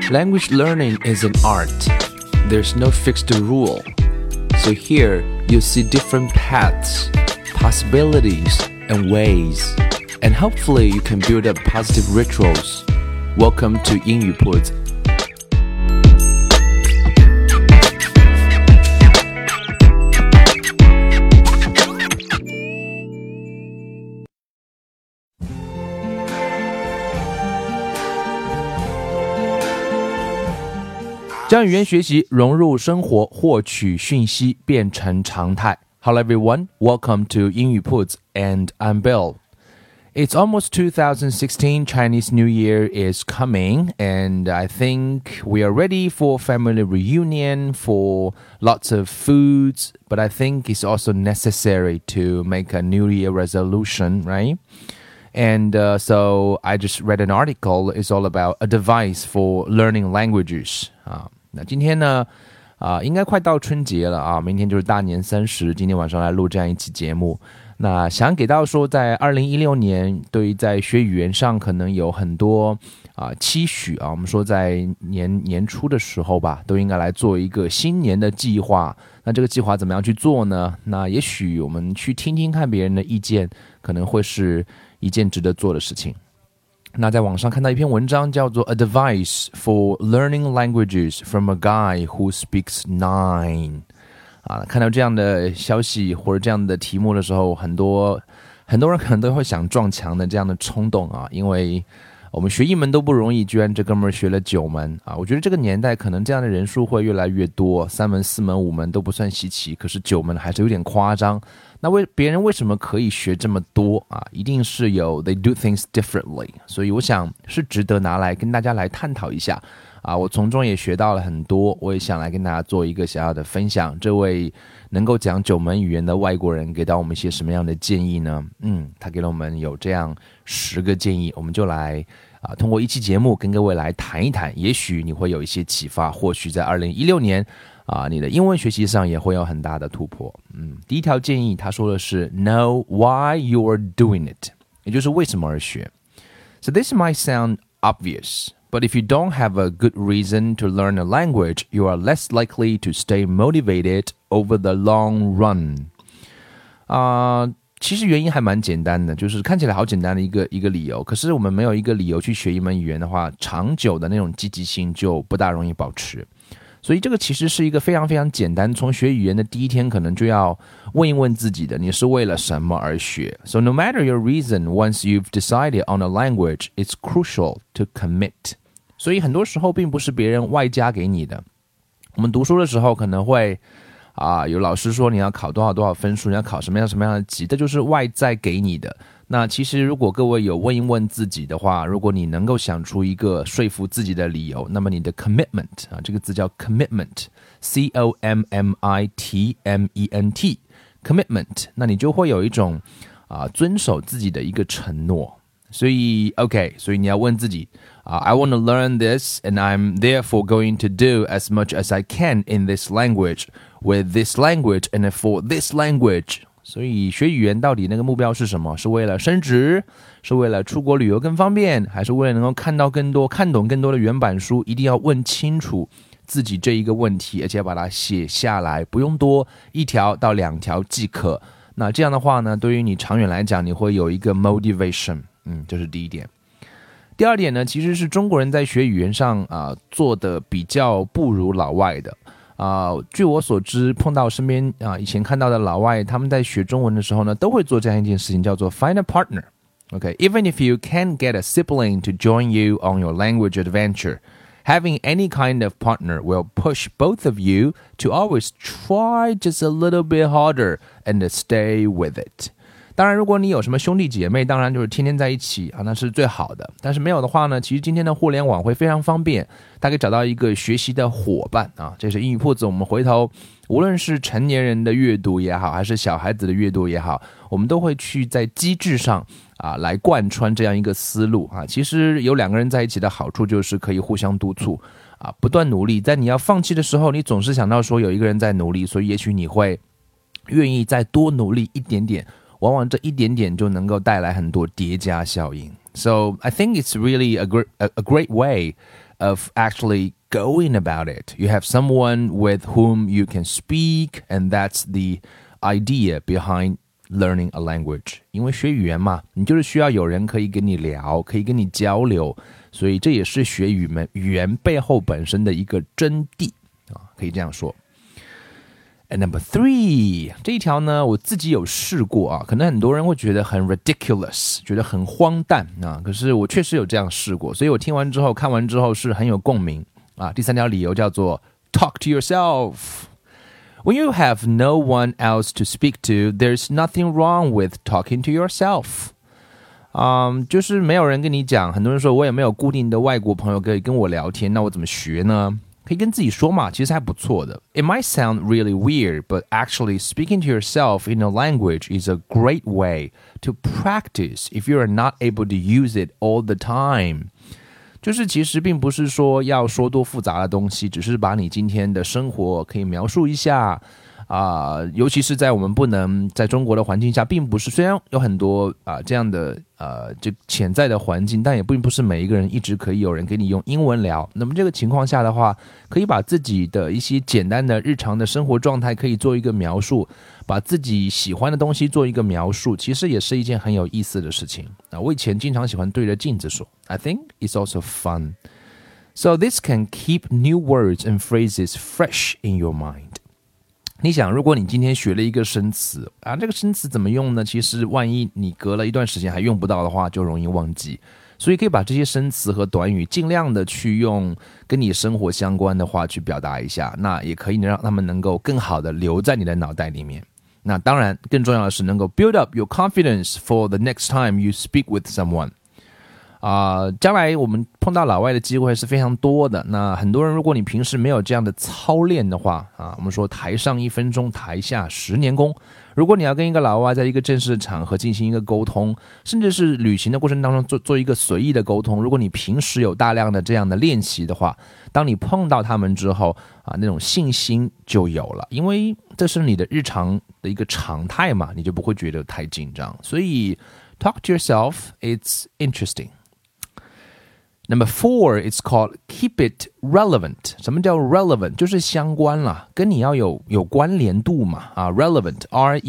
Language learning is an art. There's no fixed rule. So here you see different paths, possibilities, and ways. And hopefully you can build up positive rituals. Welcome to 英语铺子。将语言学习融入生活，获取讯息变成常态。Hello everyone, welcome to 英语铺子 and I'm Bill. It's almost 2016, Chinese New Year is coming and I think we are ready for family reunion, for lots of foods, but I think it's also necessary to make a New Year resolution, right? And so I just read an article, it's all about a device for learning languages. 那今天呢应该快到春节了啊，明天就是大年30，今天晚上来录这样一期节目。那想给到说在2016年对于在学语言上可能有很多期许啊，我们说在年初的时候吧，都应该来做一个新年的计划。那这个计划怎么样去做呢？那也许我们去听听看别人的意见，可能会是一件值得做的事情。那在网上看到一篇文章叫做 A Device for Learning Languages from a Guy Who Speaks 9看到这样的消息或者这样的题目的时候，很多人可能都会想撞墙的这样的冲动啊，因为我们学一门都不容易，居然这哥们儿学了9门啊！我觉得这个年代可能这样的人数会越来越多，3门、4门、5门都不算稀奇，可是9门还是有点夸张。那别人为什么可以学这么多啊？一定是有 they do things differently， 所以我想是值得拿来跟大家来探讨一下啊！我从中也学到了很多，我也想来跟大家做一个小小的分享。这位能够讲9门语言的外国人给到我们一些什么样的建议呢？他给了我们有这样10个建议，我们就来通过一期节目跟各位来谈一谈，也许你会有一些启发，或许在2016年你的英文学习上也会有很大的突破。第一条建议他说的是 Know why you are doing it， 也就是为什么而学。So this might sound obvious, but if you don't have a good reason to learn a language, you are less likely to stay motivated over the long run. 其实原因还蛮简单的，就是看起来好简单的一个理由，可是我们没有一个理由去学一门语言的话，长久的那种积极性就不大容易保持。所以这个其实是一个非常非常简单，从学语言的第一天可能就要问一问自己的，你是为了什么而学。 So no matter your reason, once you've decided on a language, it's crucial to commit. 所以很多时候并不是别人外加给你的。我们读书的时候可能会有老师说你要考多少分数，你要考什么样的级，这就是外在给你的。那其实如果各位有问一问自己的话，如果你能够想出一个说服自己的理由，那么你的 commitment 这个字叫 commitment C-O-M-M-I-T-M-E-N-T commitment， 那你就会有一种遵守自己的一个承诺。所以你要问自己I want to learn this and I'm therefore going to do as much as I can in this language with this language and for this language。 所以学语言到底那个目标是什么？是为了升职？是为了出国旅游更方便？还是为了能够看懂更多的原版书？一定要问清楚自己这一个问题，而且要把它写下来，不用多1条到2条即可。那这样的话呢，对于你长远来讲，你会有一个 motivation。这是第一点。第二点呢，其实是中国人在学语言上做的比较不如老外的。据我所知，碰到身边以前看到的老外，他们在学中文的时候呢，都会做这样一件事情，叫做 find a partner. Okay, even if you can't get a sibling to join you on your language adventure, having any kind of partner will push both of you to always try just a little bit harder and stay with it. 当然如果你有什么兄弟姐妹，当然就是天天在一起那是最好的。但是没有的话呢，其实今天的互联网会非常方便，大家可以找到一个学习的伙伴这是英语铺子，我们回头无论是成年人的阅读也好，还是小孩子的阅读也好，我们都会去在机制上来贯穿这样一个思路其实有2个人在一起的好处就是可以互相督促不断努力，在你要放弃的时候，你总是想到说有一个人在努力，所以也许你会愿意再多努力一点点，往往这一点点就能够带来很多叠加效应。So I think it's really a great way of actually going about it. You have someone with whom you can speak, and that's the idea behind learning a language. 因为学语言嘛，你就是需要有人可以跟你聊，可以跟你交流，所以这也是学语言背后本身的一个真谛啊，可以这样说。And number 3， 这一条呢，我自己有试过啊，可能很多人会觉得很 ridiculous， 觉得很荒诞啊，可是我确实有这样试过，所以我听完之后、看完之后是很有共鸣啊。第3条理由叫做 talk to yourself。When you have no one else to speak to, there's nothing wrong with talking to yourself. 就是没有人跟你讲，很多人说我也没有固定的外国朋友可以跟我聊天，那我怎么学呢？可以跟自己说嘛，其实还不错的。It might sound really weird, but actually speaking to yourself in a language is a great way to practice if you are not able to use it all the time. 就是其实并不是说要说多复杂的东西，只是把你今天的生活可以描述一下尤其是在我们不能在中国的环境下，并不是虽然有很多这样的就潜在的环境，但也并不是每一个人一直可以有人跟你用英文聊。那么这个情况下的话，可以把自己的一些简单的日常的生活状态可以做一个描述，把自己喜欢的东西做一个描述，其实也是一件很有意思的事情。我以前经常喜欢对着镜子说 I think it's also fun. So this can keep new words and phrases fresh in your mind.你想，如果你今天学了一个生词这个生词怎么用呢？其实万一你隔了一段时间还用不到的话，就容易忘记。所以可以把这些生词和短语尽量的去用跟你生活相关的话去表达一下，那也可以让他们能够更好的留在你的脑袋里面。那当然，更重要的是能够 build up your confidence for the next time you speak with someone。将来我们碰到老外的机会是非常多的。那很多人，如果你平时没有这样的操练的话我们说台上1分钟，台下10年功。如果你要跟一个老外在一个正式的场合进行一个沟通，甚至是旅行的过程当中做一个随意的沟通，如果你平时有大量的这样的练习的话，当你碰到他们之后那种信心就有了，因为这是你的日常的一个常态嘛，你就不会觉得太紧张。所以 talk to yourself, it's interesting.Number 4, it's called keep it relevant. 什么叫 relevant? 就是相关啦，跟你要有关联度嘛relevant,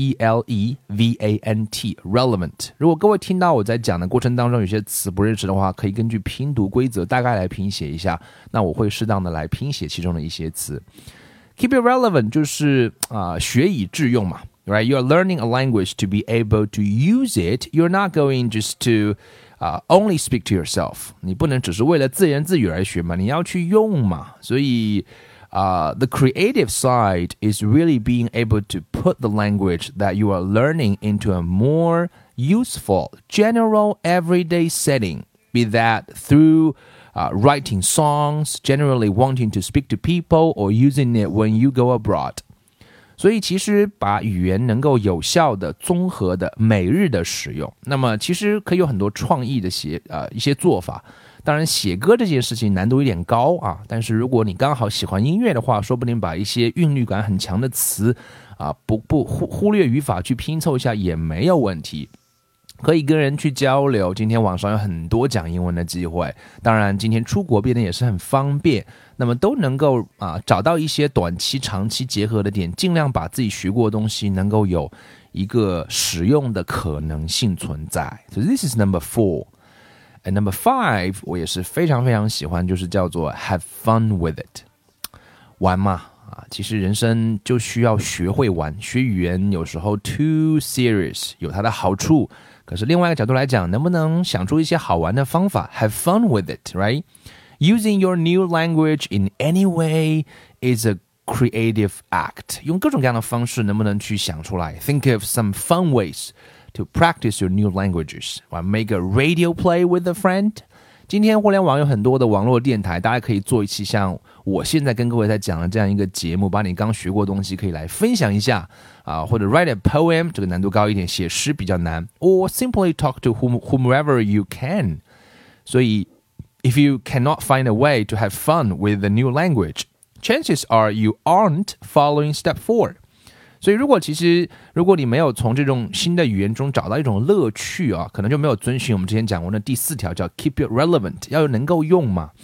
R-E-L-E-V-A-N-T, relevant. 如果各位听到我在讲的过程当中有些词不认识的话，可以根据拼读规则大概来拼写一下，那我会适当的来拼写其中的一些词。Keep it relevant 就是学以致用嘛，right? You're learning a language to be able to use it. You're not going just to...only speak to yourself. 你不能只是为了自言自语而学嘛，你要去用嘛。所以the creative side is really being able to put the language that you are learning into a more useful, general, everyday setting, be that through writing songs, generally wanting to speak to people, or using it when you go abroad.所以其实把语言能够有效的、综合的、每日的使用，那么其实可以有很多创意的一些做法。当然，写歌这件事情难度有点高但是如果你刚好喜欢音乐的话，说不定把一些韵律感很强的词不忽略语法去拼凑一下也没有问题。可以跟人去交流，今天网上有很多讲英文的机会，当然今天出国变得也是很方便，那么都能够找到一些短期长期结合的点，尽量把自己学过的东西能够有一个使用的可能性存在。 So this is number 4. And number 5 我也是非常非常喜欢，就是叫做 have fun with it. 玩嘛其实人生就需要学会玩，学语言有时候 too serious 有它的好处，可是另外一个角度来讲，能不能想出一些好玩的方法 have fun with it, right? Using your new language in any way is a creative act. 用各种各样的方式能不能去想出来 Think of some fun ways to practice your new languages. Make a radio play with a friend. 今天互联网有很多的网络电台，大家可以做一期像我现在跟各位在讲的这样一个节目，把你刚学过的东西可以来分享一下或者 write a poem， 这个难度高一点，写诗比较难， or simply talk to whomever you can. 所以 if you cannot find a way to have fun with the new language, chances are you aren't following step 4. 所以如果你没有从这种新的语言中找到一种乐趣可能就没有遵循我们之前讲过的第4条叫 keep it relevant， 要能够用嘛。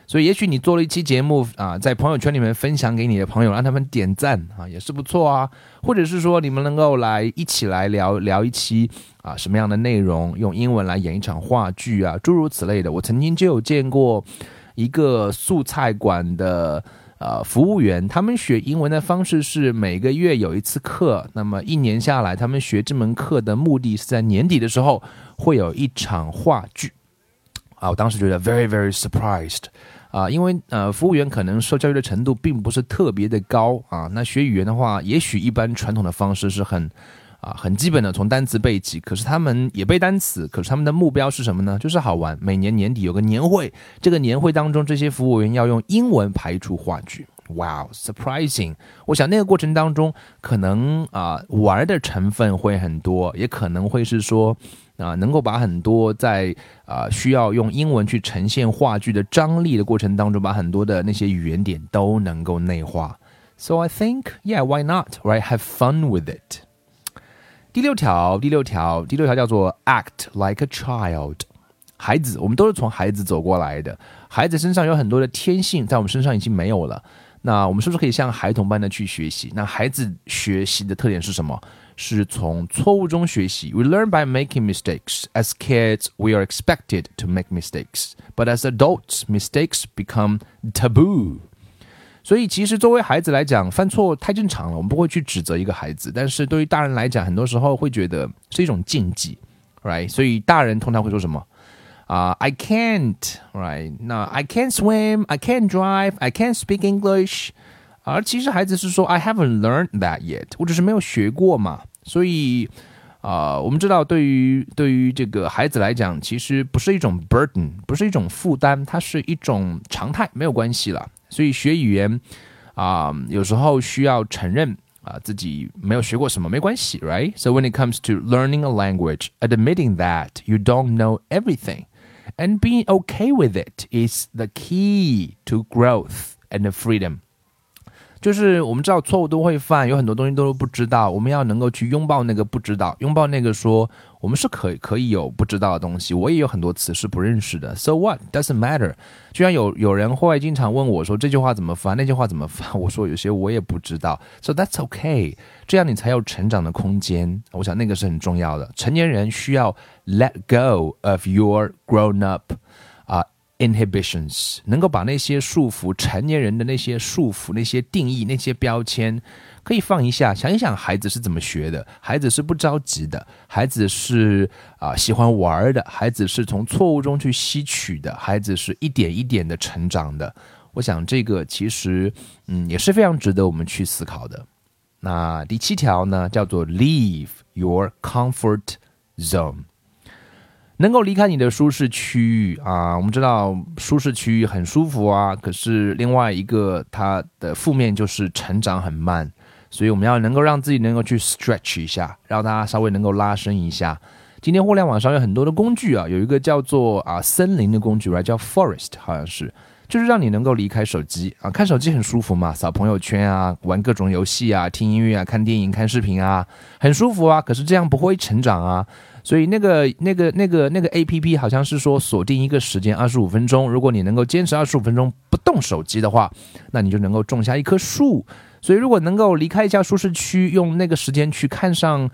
所以也许你做了一期节目在朋友圈里面分享给你的朋友，让他们点赞也是不错啊。或者是说你们能够一起来聊一期什么样的内容，用英文来演一场话剧诸如此类的。我曾经就有见过一个素菜馆的服务员，他们学英文的方式是每个月有一次课，那么一年下来，他们学这门课的目的是在年底的时候会有一场话剧我当时觉得 very very surprised因为服务员可能受教育的程度并不是特别的高那学语言的话，也许一般传统的方式是很基本的从单词背起，可是他们也背单词，可是他们的目标是什么呢？就是好玩，每年年底有个年会，这个年会当中这些服务员要用英文排一出话剧。Wow, surprising！ 我想那个过程当中可能玩的成分会很多，也可能会是说能够把很多在需要用英文去呈现话剧的张力的过程当中，把很多的那些语言点都能够内化。So I think, yeah, why not? Right? Have fun with it. 第六条叫做 act like a child。孩子，我们都是从孩子走过来的，孩子身上有很多的天性，在我们身上已经没有了。那我们是不是可以像孩童般的去学习？那孩子学习的特点是什么？是从错误中学习。 We learn by making mistakes. As kids, we are expected to make mistakes. But as adults, mistakes become taboo. 所以其实作为孩子来讲，犯错太正常了，我们不会去指责一个孩子。但是对于大人来讲，很多时候会觉得是一种禁忌 right? 所以大人通常会说什么I can't, right? 那 I can't swim, I can't drive, I can't speak English. 而其实孩子是说 I haven't learned that yet. 我只是没有学过嘛。所以我们知道对于这个孩子来讲，其实不是一种 burden， 不是一种负担，它是一种常态，没有关系啦。所以学语言有时候需要承认自己没有学过什么，没关系 right? So when it comes to learning a language, admitting that you don't know everything.And being okay with it is the key to growth and freedom. 就是我们知道错误都会犯，有很多东西都不知道，我们要能够去拥抱那个不知道，拥抱那个说我们是可以有不知道的东西，我也有很多词是不认识的。 So what? Doesn't matter. 就像有人会经常问我说这句话怎么翻，那句话怎么翻，我说有些我也不知道。 So that's okay. 这样你才有成长的空间，我想那个是很重要的。成年人需要 let go of your grown up inhibitions， 能够把那些束缚，成年人的那些束缚，那些定义，那些标签可以放一下，想一想孩子是怎么学的，孩子是不着急的，孩子是喜欢玩的，孩子是从错误中去吸取的，孩子是一点一点的成长的。我想这个其实也是非常值得我们去思考的。那第7条呢，叫做 leave your comfort zone。能够离开你的舒适区域我们知道舒适区域很舒服可是另外一个它的负面就是成长很慢，所以我们要能够让自己能够去 stretch 一下，让大家稍微能够拉伸一下。今天互联网上有很多的工具有一个叫做森林的工具叫 forest， 好像是就是让你能够离开手机看手机很舒服嘛，扫朋友圈玩各种游戏听音乐看电影看视频很舒服可是这样不会成长所以那个 APP 好像是说锁定一个时间25分钟，如果你能够坚持25分钟不动手机的话，那你就能够种下一棵树。所以如果能够离开一下舒适区，用那个时间去看上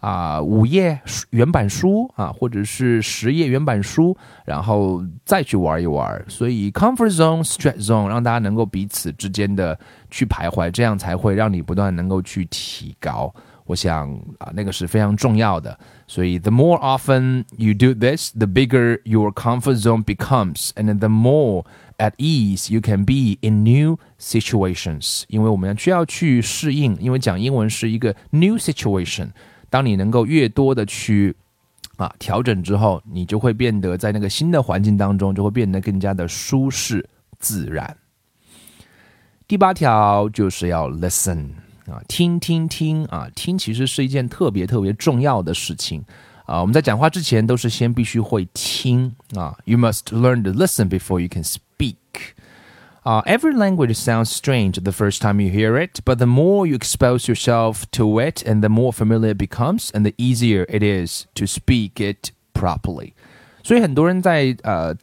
5页原版书或者是10页原版书，然后再去玩一玩。所以 comfort zone, stretch zone 让大家能够彼此之间的去徘徊，这样才会让你不断能够去提高。我想那个是非常重要的。所以 the more often you do this, the bigger your comfort zone becomes, and the more at ease you can be in new situations. 因为我们需要去适应，因为讲英文是一个 new situation。当你能够越多的去调整之后，你就会变得在那个新的环境当中就会变得更加的舒适自然。第8条就是要 listen。听其实是一件特别特别重要的事情我们在讲话之前都是先必须会听You must learn to listen before you can speak. Every language sounds strange the first time you hear it, but the more you expose yourself to it, and the more familiar it becomes, and the easier it is to speak it properly. 所以很多人在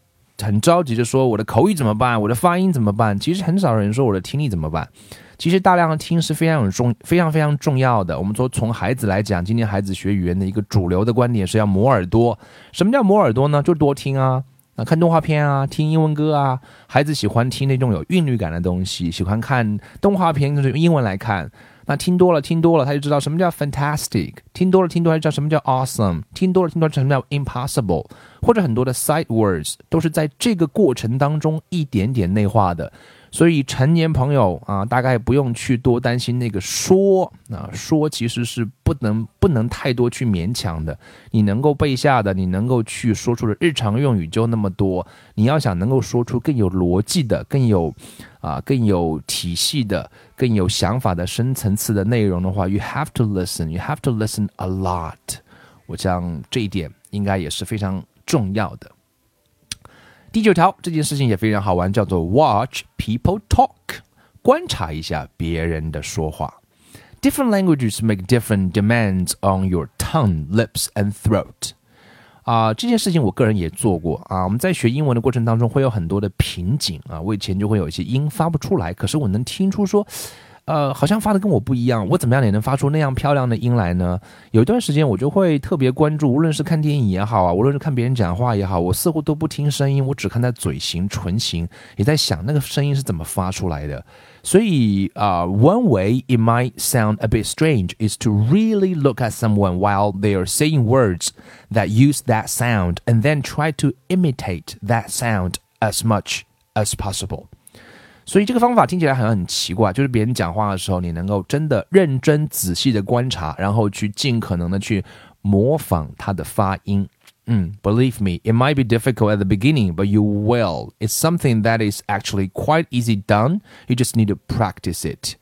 很着急的说我的口语怎么办，我的发音怎么办，其实很少人说我的听力怎么办。其实大量的听是非常重要的。我们说从孩子来讲，今天孩子学语言的一个主流的观点是要磨耳朵。什么叫磨耳朵呢？就多听啊，看动画片啊，听英文歌啊。孩子喜欢听那种有韵律感的东西，喜欢看动画片就是用英文来看。那听多了，他就知道什么叫 fantastic， 听多了就知道什么叫 awesome， 听多了就知道什么叫 impossible， 或者很多的 sight words 都是在这个过程当中一点点内化的。所以成年朋友啊，大概不用去多担心那个说其实是不能太多去勉强的。你能够背下的，你能够去说出的日常用语就那么多。你要想能够说出更有逻辑的、更有体系的、更有想法的深层次的内容的话 ，you have to listen a lot。我想这一点应该也是非常重要的。第9条，这件事情也非常好玩，叫做 watch people talk， 观察一下别人的说话。Different languages make different demands on your tongue, lips, and throat。这件事情我个人也做过啊。我们在学英文的过程当中会有很多的瓶颈啊，我以前就会有一些音发不出来，可是我能听出说好像发的跟我不一样，我怎么样也能发出那样漂亮的音来呢？有一段时间我就会特别关注，无论是看电影也好啊，无论是看别人讲话也好，我似乎都不听声音，我只看他嘴型、唇形，也在想那个声音是怎么发出来的。所以one way it might sound a bit strange is to really look at someone while they are saying words that use that sound and then try to imitate that sound as much as possible。所以这个方法听起来好像很奇怪，就是别人讲话的时候，你能够真的认真仔细的观察，然后去尽可能的去模仿他的发音。Believe me, it might be difficult at the beginning, but you will. It's something that is actually quite easy done. You just need to practice it.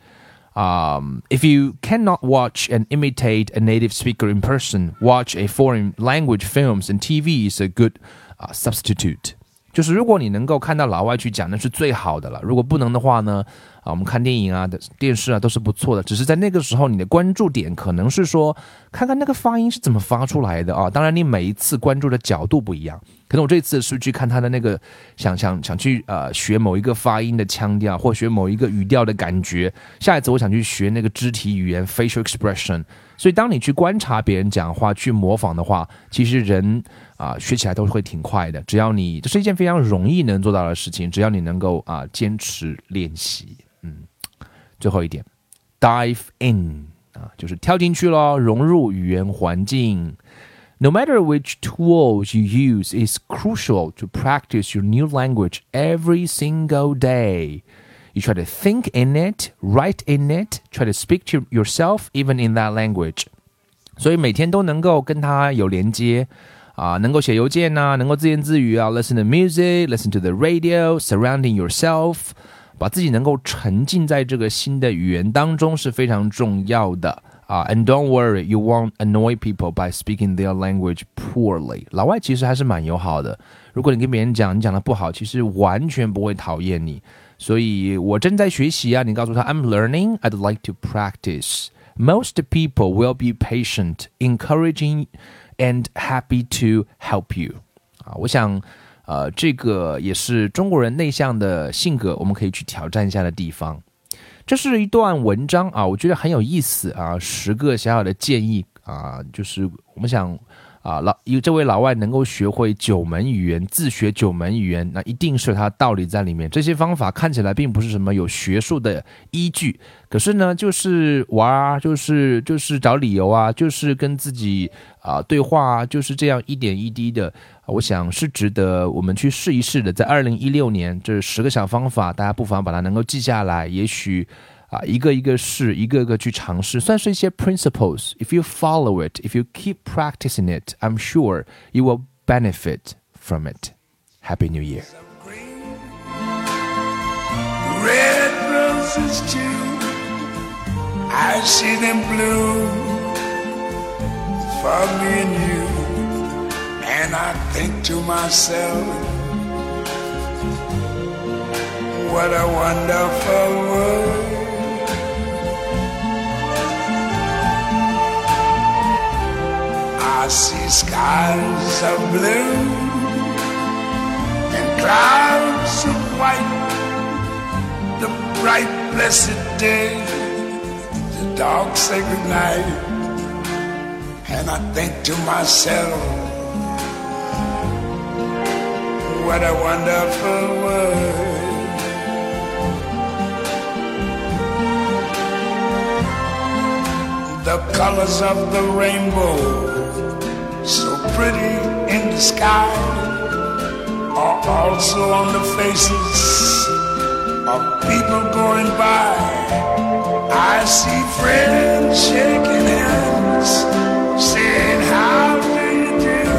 If you cannot watch and imitate a native speaker in person, watch a foreign language films and TV is a good substitute.就是如果你能够看到老外去讲，那是最好的了。如果不能的话呢，我们看电影啊、电视啊都是不错的。只是在那个时候，你的关注点可能是说，看看那个发音是怎么发出来的啊。当然，你每一次关注的角度不一样。可能我这次是去看他的那个，想去学某一个发音的腔调，或学某一个语调的感觉。下一次我想去学那个肢体语言 （facial expression）。所以，当你去观察别人讲话、去模仿的话，其实人学起来都会挺快的。只要你，这是一件非常容易能做到的事情，只要你能够坚持练习。最后一点 ，dive in 就是跳进去咯，融入语言环境。No matter which tools you use, it's crucial to practice your new language every single day.You try to think in it, write in it, try to speak to yourself even in that language. 所以每天都能够跟它有连接能够写邮件能够自言自语listen to music, listen to the radio, surrounding yourself. 把自己能够沉浸在这个新的语言当中是非常重要的And don't worry, you won't annoy people by speaking their language poorly. 老外其实还是蛮友好的。如果你跟别人讲，你讲的不好，其实完全不会讨厌你。所以我正在学习你告诉他 I'm learning, I'd like to practice. Most people will be patient, encouraging, and happy to help you. 我想这个也是中国人内向的性格，我们可以去挑战一下的地方。这是一段文章我觉得很有意思10个小小的建议就是我们想这位老外能够学会9门语言，自学9门语言，那一定是有他的道理在里面。这些方法看起来并不是什么有学术的依据，可是呢，就是玩就是找理由就是跟自己对话就是这样一点一滴的。我想是值得我们去试一试的。在2016年，这10个小方法，大家不妨把它能够记下来，也许一个一个试，一个个去尝试，算是一些 principles. If you follow it, if you keep practicing it, I'm sure you will benefit from it. Happy New Year. Red roses too, I see them bloom for me and you, and I think to myself, what a wonderful world.I see skies of blue and clouds of white, the bright blessed day, the dark sacred night. And I think to myself, what a wonderful world. The colors of the rainbow, so pretty in the sky, are also on the faces of people going by. I see friends shaking hands, saying, how do you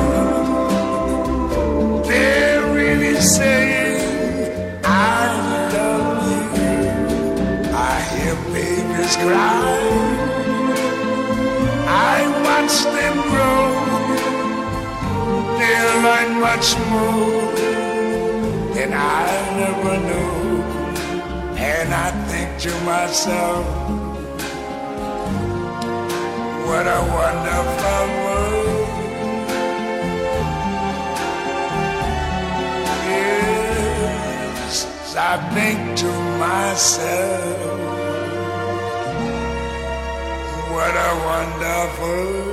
do? They're really saying, I love you. I hear babies cry, I watch them grow. They learn much more than I never knew. And I think to myself, what a wonderful world. Yes, I think to myself, what a wonderful